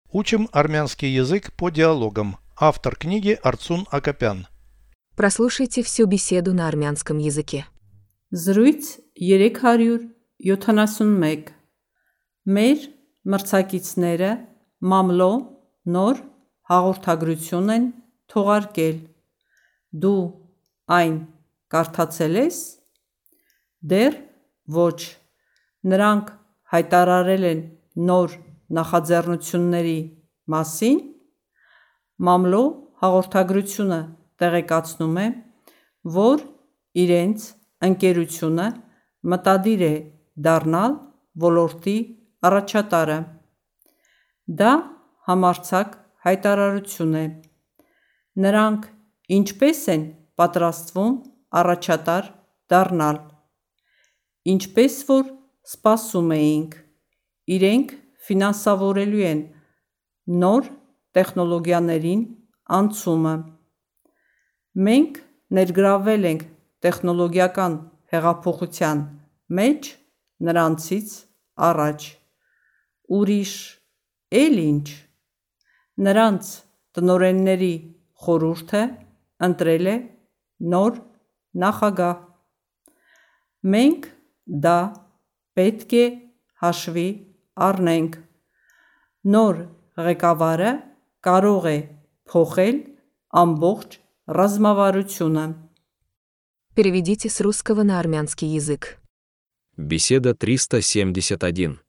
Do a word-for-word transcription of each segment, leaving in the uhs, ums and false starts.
Учим армянский язык по диалогам. Автор книги Арцун Акопян. Прослушайте всю беседу на армянском языке. Զրույց երեք հարյուր յոթանասունմեկ Մեր մրցակիցները մամլո նոր հաղորդագրություն են թողարկել։ Դու այն կարդացել ես։ Դեռ ոչ։ Նրանք հայտարարել են նոր նախաձեռնությունների մասին։ Մամլո հաղորդագրությունը տեղեկացնում է, որ իրենց ընկերությունը մտադիր է դառնալ ոլորտի առաջատարը։ Դա համարձակ հայտարարություն է։ Նրանք ինչպես են պատրաստվում առաջատար դառնալ։ Ինչպես որ սպասում էինք, իրենք ֆինանսավորելու են նոր տեխնոլոգիաներին անցումը։ Մենք ներգրավվել ենք տեխնոլոգիական հեղափոխության մեջ նրանցից առաջ։ Ուրիշ էլ ինչ։ Նրանց տնօրենների խորհուրդը ընտրել է նոր նախագահ։ Մենք դա պետք է հաշվի առնենք։ Նոր ղեկավարը կարող է փոխել ամբողջ ռազմավարությունը։ Переведите с русского на армянский язык. Беседа триста семьдесят один.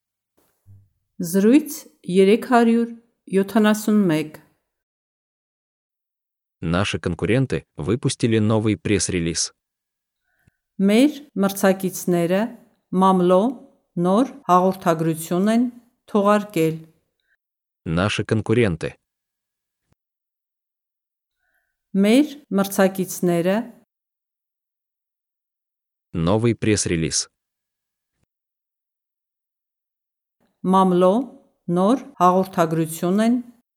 Զրույց երեք հարյուր յոթանասունմեկ Наши конкуренты выпустили новый пресс-релиз. Մեր մրցակիցները մամլո նոր հաղորդագրություն են թողարկել։ Наши конкуренты. Մեր մրցակիցները Новый пресс-релиз. մամլո նոր հաղորդագրություն են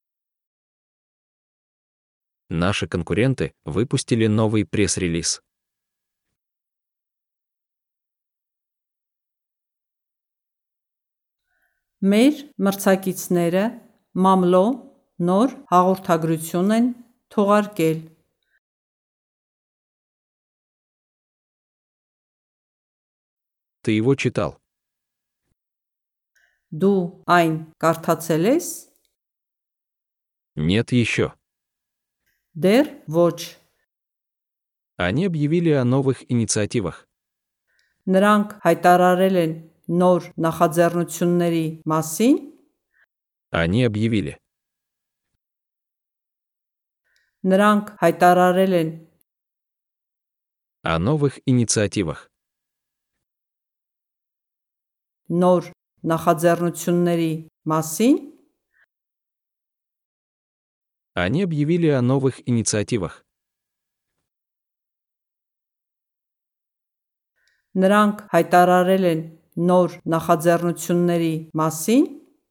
Наши конкуренты выпустили новый пресс-релиз. Մեր մրցակիցները մամլո նոր հաղորդագրություն են թողարկել։ Ты его читал? Դու այն կարդացել ես։ Нет еще. Դեռ ոչ։ Они объявили о новых инициативах. Նրանք հայտարարել են նոր նախաձեռնությունների մասին։ Они объявили. Նրանք հայտարարել են О новых инициативах. նոր նախաձեռնությունների մասին։ Они объявили о новых инициативах. Նրանք հայտարարել են նոր նախաձեռնությունների մասին։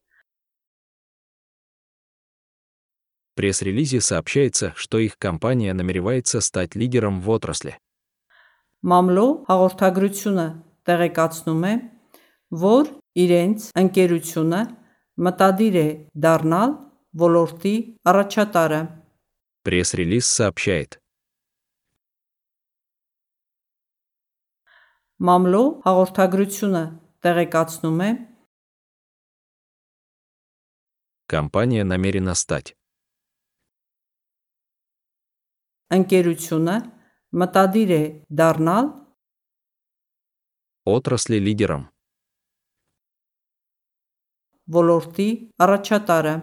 В пресс-релизе сообщается, что их компания намеревается стать лидером в отрасли. Մամլո հաղորդագրությունը տեղեկացնում է, որ իրենց ընկերությունը մտադիր է դառնալ ոլորտի առաջատարը։ Пресс-релиз сообщает. Մամլո հաղորդագրությունը տեղեկացնում է, Компания намерена стать. ընկերությունը մտադիր է դառնալ Отрасли лидером. ոլորտի առաջատարը։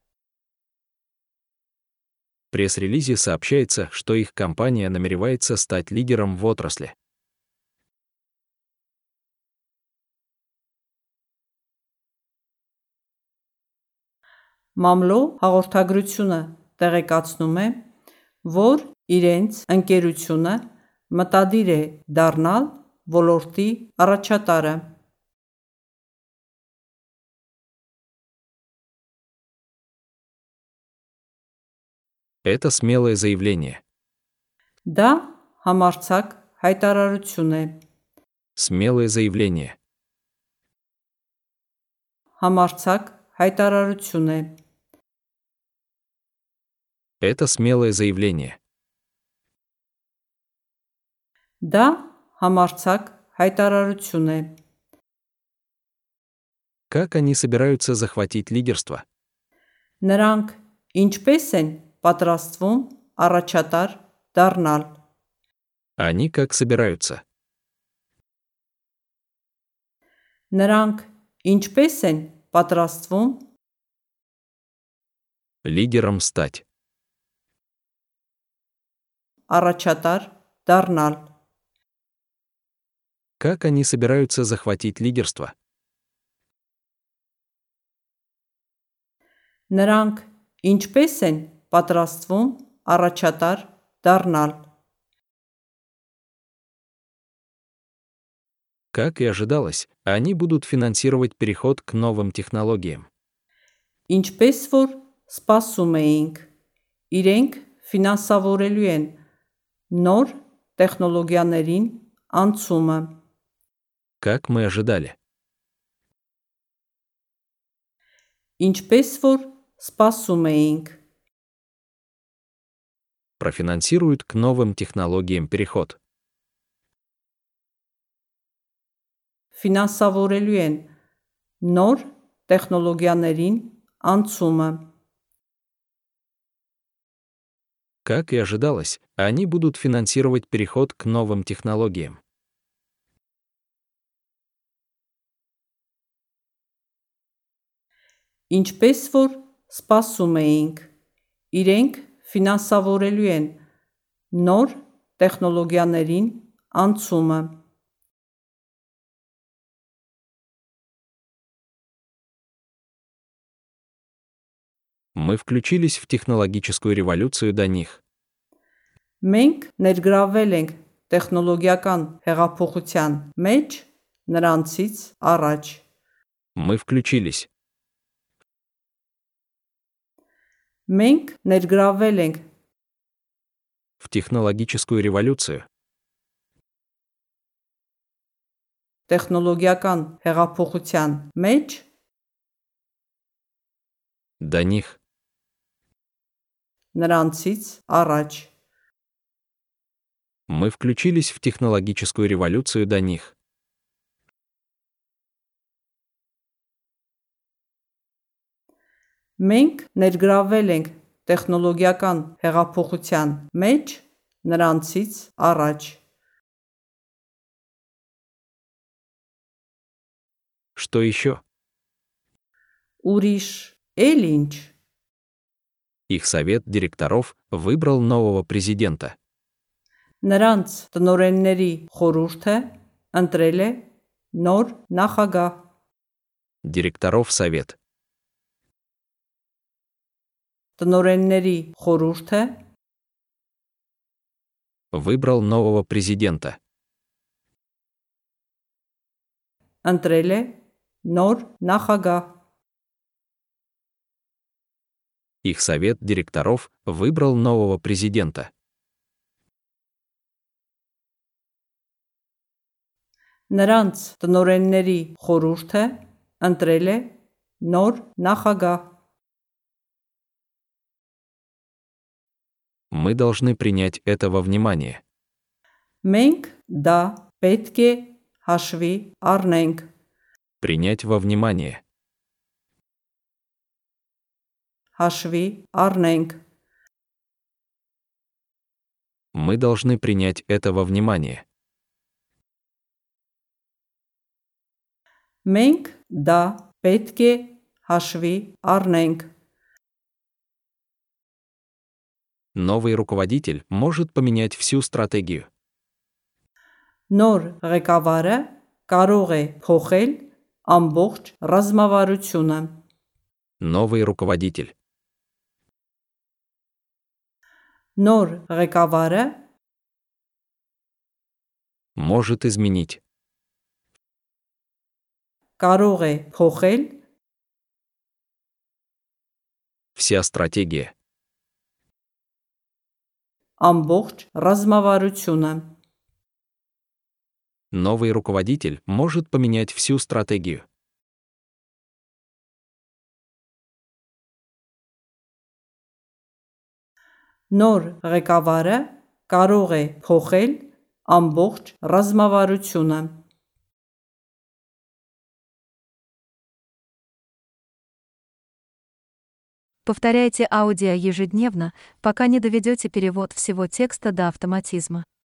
В пресс-релизе сообщается, что их компания намеревается стать лидером в отрасли. Մամլո հաղորդագրությունը տեղեկացնում է, որ իրենց ընկերությունը մտադիր է դառնալ ոլորտի առաջատարը։ Это смелое заявление. Դա համարձակ հայտարարություն է։ Смелое заявление. Համարձակ հայտարարություն է։ Это смелое заявление. Դա համարձակ հայտարարություն է։ Как они собираются захватить лидерство? Նրանք ինչպես են պատրաստվում առաջատար դառնալ։ Они как собираются? Նրանք ինչպես են պատրաստվում Лидером стать. առաջատար դառնալ։ Как они собираются захватить лидерство? Նրանք ինչպես են պատրաստվում առաջատար դառնալ։ Как и ожидалось, они будут финансировать переход к новым технологиям. Ինչպես որ սպասում էինք, իրենք ֆինանսավորելու են նոր տեխնոլոգիաներին անցումը։ Как мы ожидали. Ինչպես որ սպասում էինք, Профинансируют к новым технологиям переход. ֆինանսավորելու են նոր տեխնոլոգիաներին անցումը։ Как и ожидалось, они будут финансировать переход к новым технологиям. Ինչպես որ սպասում էինք, իրենք ֆինանսավորելու են նոր տեխնոլոգիաներին անցումը։ Мы включились в технологическую революцию до них. Մենք ներգրավել ենք տեխնոլոգիական հեղափոխության մեջ նրանցից առաջ։ Мы включились. Մենք ներգրավել ենք В технологическую революцию. տեխնոլոգիական հեղափոխության մեջ До них. նրանցից առաջ։ Мы включились в технологическую революцию до них. Մենք ներգրավել ենք տեխնոլոգիական հեղափոխության մեջ նրանցից առաջ։ Что еще? Ուրիշ էլ ինչ։ Их совет директоров выбрал нового президента. Նրանց տնօրենների խորհուրդը ընտրել է նոր նախագահ։ Директоров совет. Տնօրենների խորհուրդը Выбрал нового президента. ընտրել է նոր նախագահ։ Их совет директоров выбрал нового президента. Նրանց տնօրենների խորհուրդը ընտրել է նոր նախագահ։ Мы должны принять это во внимание. Մենք դա պետք է հաշվի առնենք։ Принять во внимание. Հաշվի առնենք։ Мы должны принять это во внимание. Մենք դա պետք է հաշվի առնենք։ Новый руководитель может поменять всю стратегию. Նոր ղեկավարը կարող է փոխել ամբողջ ռազմավարությունը։ Новый руководитель. Նոր ղեկավարը Может изменить. կարող է փոխել Вся стратегия. ամբողջ ռազմավարությունը։ Новый руководитель может поменять всю стратегию. Նոր ղեկավարը կարող է փոխել ամբողջ ռազմավարությունը։ Повторяйте аудио ежедневно, пока не доведете перевод всего текста до автоматизма.